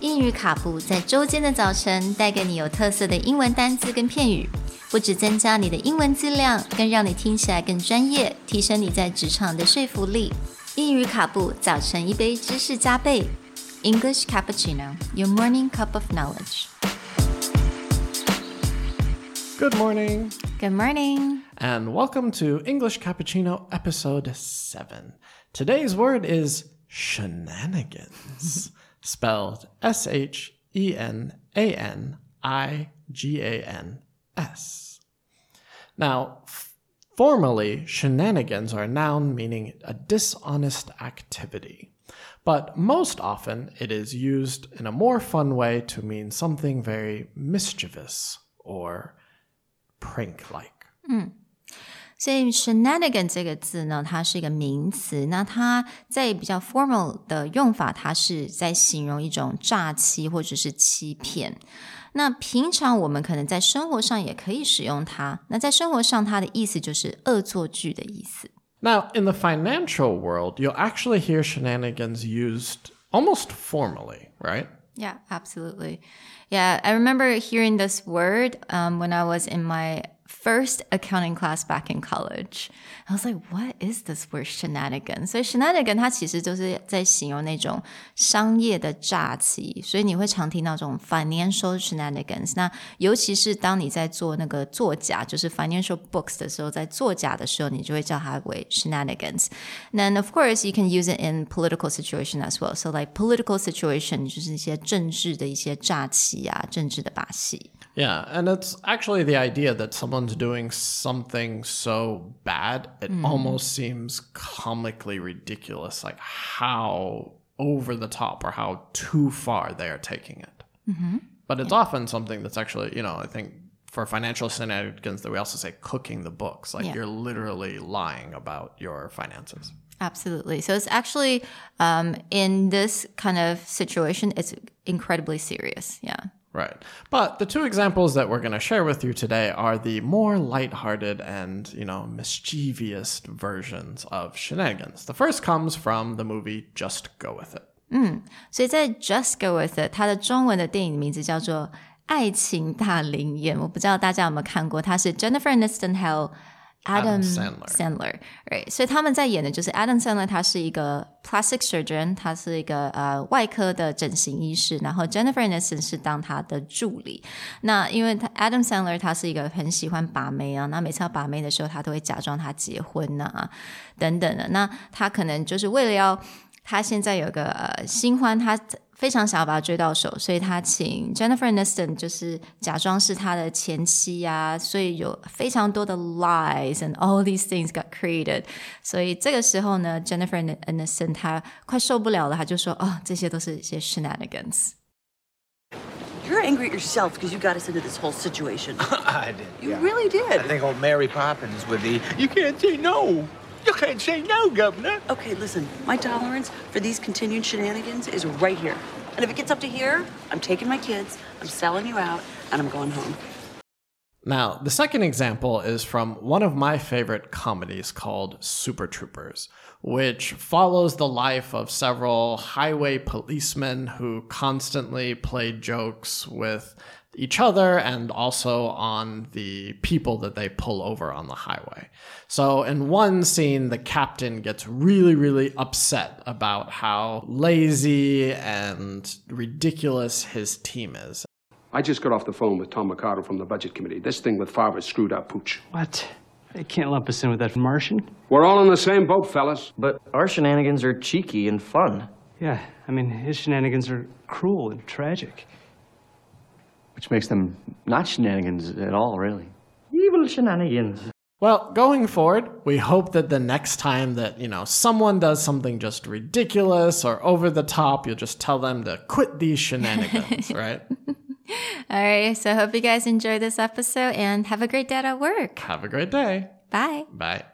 英语卡布在周间的早晨带给你有特色的英文单字跟片语，不只增加你的英文质量，更让你听起来更专业，提升你在职场的说服力。英语卡布早晨一杯知识加倍 English Cappuccino, your morning cup of knowledge. Good morning. Good morning. And welcome to English Cappuccino episode 7. Today's word is shenanigans, spelled S-H-E-N-A-N-I-G-A-N-S. Now, formally, shenanigans are a noun meaning a dishonest activity. But most often, it is used in a more fun way to mean something very mischievous or prank-like. 所以 shenanigan 这个字呢，它是一个名词，那它在比较 formal 的用法，它是在形容一种诈欺或者是欺骗。那平常我们可能在生活上也可以使用它，那在生活上它的意思就是恶作剧的意思。 Now, in the financial world, you'll actually hear shenanigans used almost formally, right? Yeah, absolutely. Yeah, I remember hearing this word when I was in my first accounting class back in college. I was like, what is this word shenanigan? 所以 shenanigan 它其实就是在形容那种商业的诈欺，所以你会常听到这种 financial shenanigans. 那尤其是当你在做那个作假，就是 financial books 的时候，在作假的时候，你就会叫它为 shenanigans. And of course, you can use it in political situation as well. So like political situation 就是一些政治的一些诈欺啊，政治的把戏。 Yeah, and it's actually the idea that someone's doing something so bad, it almost seems comically ridiculous, like how over the top or how too far they are taking it. But it's often something that's actually, I think for financial shenanigans that we also say cooking the books, like you're literally lying about your finances. Absolutely. So it's actually, in this kind of situation, it's incredibly serious. Yeah. Right. But the two examples that we're going to share with you today are the more lighthearted and, mischievous versions of shenanigans. The first comes from the movie Just Go With It. 所以在 Just Go With It 它的中文的电影名字叫做爱情大灵验，我不知道大家有没有看过，它是 Jennifer Aniston 还有Adam Sandler. Right. 所以他们在演的就是 Adam Sandler 他是一个 plastic surgeon, 他是一个外科的整形医师，然后 Jennifer Aniston 是当他的助理。那因为Adam Sandler 他是一个很喜欢把妹啊，那每次要把妹的时候他都会假装他结婚啊等等的，那他可能就是为了要他现在有个新欢，他非常想要把他追到手，所以他请 Jennifer Aniston 就是假装是他的前妻啊，所以有非常多的 lies and all these things got created. 所以这个时候呢 Jennifer Aniston 他快受不了了，他就说这些都是一些 shenanigans. You're angry at yourself because you got us into this whole situation. I did. You really did. I think old Mary Poppins with the, you can't say no. You can't say no, Governor. Okay, listen, my tolerance for these continued shenanigans is right here. And if it gets up to here, I'm taking my kids, I'm selling you out, and I'm going home. Now, the second example is from one of my favorite comedies called Super Troopers, which follows the life of several highway policemen who constantly play jokes with each other and also on the people that they pull over on the highway. So in one scene, the captain gets really, really upset about how lazy and ridiculous his team is. I just got off the phone with Tom Mercado from the Budget Committee. This thing with Favre's screwed up, Pooch. What? They can't lump us in with that Martian? We're all in the same boat, fellas. But our shenanigans are cheeky and fun. Yeah, I mean, his shenanigans are cruel and tragic. Which makes them not shenanigans at all, really. Evil shenanigans. Well, going forward, we hope that the next time that, someone does something just ridiculous or over the top, you'll just tell them to quit these shenanigans, right? All right, so I hope you guys enjoyed this episode and have a great day at work. Have a great day. Bye. Bye.